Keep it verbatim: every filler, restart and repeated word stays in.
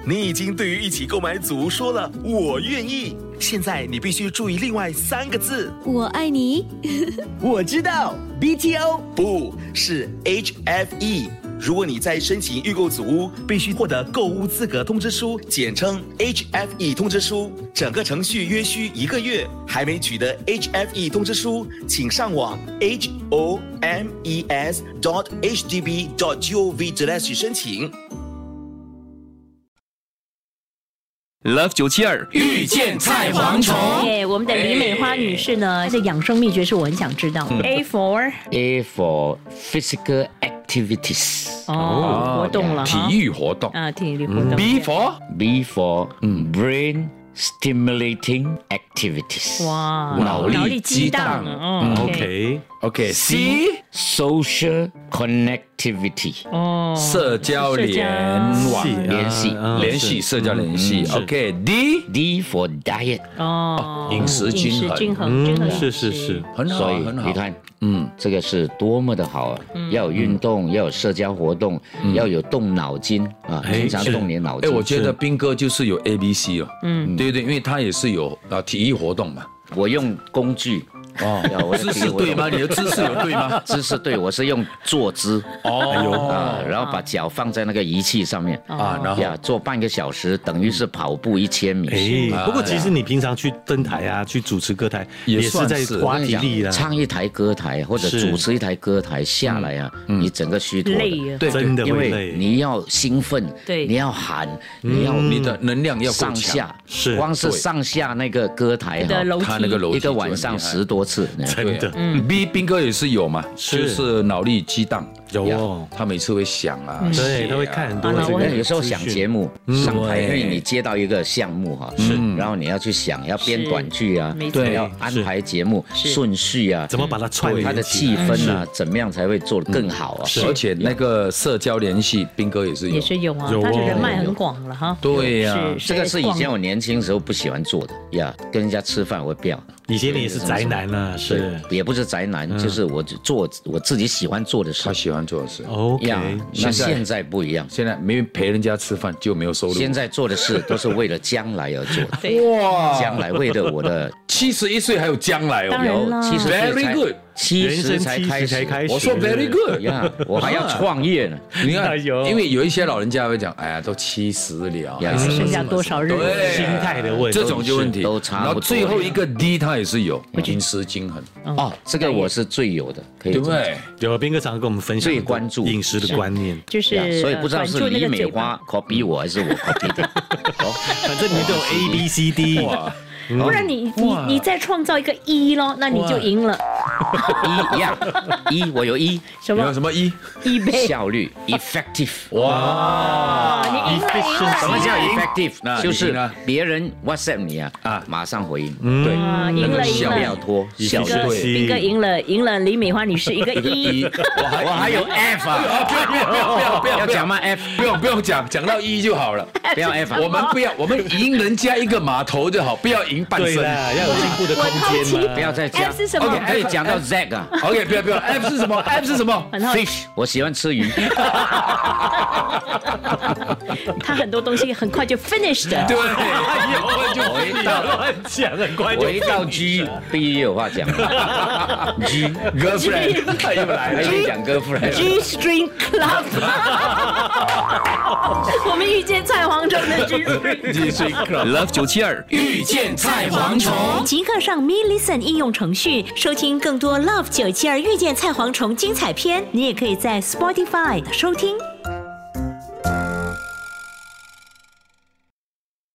你已经对于一起购买组说了我愿意，现在你必须注意另外三个字。 我爱你。 我知道 B T O 不是 H F E。如果你在申请预购组屋，必须获得购屋资格通知书，简称 H F E 通知书，整个程序约需一个月。还没取得 H F E 通知书，请上网 h o m e s dot h d b dot gov slash 申请。 Love 九七二遇见菜蝗虫。 耶，我们的李美花女士呢，这养生秘诀是我很想知道。A for A for physical activities。 哦，活动了哈。 体育活动啊，体育活动。 B for B for brain stimulating activities。 哇， 脑力激荡哦 OK OK C social connectivity。 哦， 社交联网联系联系社交联系 OK D D for diet。 哦， 饮食均衡饮食均衡，均衡嗯，是是是， 很好所以很好你看，嗯，这个是多么的好啊！要有运动，要有社交活动，要有动脑筋啊， 哎经常动你的脑哎， 筋。 我觉得斌哥就是有 A B C 哦，嗯，对对，因为他也是有啊体育活动嘛。 我用工具哦， 我的姿势对吗？你的姿势有对吗？ 姿势对，我是用坐姿哦啊，然后把脚放在那个仪器上面啊，然后呀，做半个小时，等于是跑步一千米。 哎，不过其实你平常去登台啊，去主持歌台， 也也是在算是花体力啦。 唱一台歌台或者是主持一台歌台下来啊，你整个虚脱的。 累啊。 对， 真的因为会累。 你要兴奋， 对你要喊，你要你的能量要够强上下， 是光是上下那个歌台哈， 的楼梯他那个楼梯一个晚上十多次， 真的嗯 B 斌哥也是有嘛， 是就是脑力激荡， 有哦， 他每次会想啊， 对， 写啊他会看很多啊我这个那有时候想节目上台，因为你接到一个项目哈，是，然后你要去想，要编短剧啊， 没错对，要安排节目顺序啊， 怎么把它串联它的气起来氛啊，怎么样才会做得更好啊？ 而且那个社交联系，斌哥也是有， 也是有啊， 有哦他的人脉很广了哈。 对呀， 是这个是以前我年轻时候不喜欢做的呀，跟人家吃饭我不要。 以前你也是宅男啊，是也不是宅男，就是我做我自己喜欢做的事他喜欢做的事。 OK， 呀。那现在现在不一样， 现在没陪人家吃饭就没有收入。 现在做的事都是为了将来而做的， 对， 哇， 将来为了我的七十一岁还有将来哦， 当然啦七十岁 Very 才 good 七人生十才开七十才始， 开始。 我说 very good 呀，我还要创业呢。 你看， 哎呦因为有一些老人家会讲，哎呀，都七十了， 呀还是剩下多少日子？ 对心态的问题， 这种就问题都差不多然后最后一个 D 他也是有饮食均衡， 哦，这个我是最有的，可以对不这么对？ 有斌哥常跟我们分享最关注饮食的观念， 就是呀所以不知道是管住那李美个嘴巴花 copy 我还是我 copy 的。哦， 反正你们都有 A B C D， 哇， 不然你你哇你再创造一个一咯，那你就赢了。 一呀，一我有一什么有什么一？ 一倍？ 效率 effective。 哇， 你赢了，赢了！ 什么叫赢 effective？ 那就是你赢了别人 WhatsApp 你啊， 啊马上回应。 对， 啊，赢了，赢不要了！ 拖，效率。 斌哥， 对斌哥赢了，赢了！李美花女士一个一， 我还我还有 F 啊， 不要不要不要不要不要要讲吗 F？ 不用不用讲，讲到一就好了。 不要 F 啊。 我们不要，我们赢人家一个码头就好，不要赢半身。 对啦，要有进步的空间嘛。 不要再讲 F 是什么 OK，可以讲到 Z 啊。 OK，不要不要 ，F 是什么 ？F 是什么？ 很好， Fish，我喜欢吃鱼。 他很多东西很快就 finished 的。 对， 我一到乱讲，很快就我一到 G，必须有话讲。G girlfriend 又来了。 还可以讲 girlfriend。 G String Club， 我们遇见菜蝗虫的 G String。 G String Club Love 九七二遇见菜蝗虫。 即刻上 Me Listen 应用程序收听更多 Love 九七二遇见菜蝗虫精彩片，你也可以在 Spotify 收听。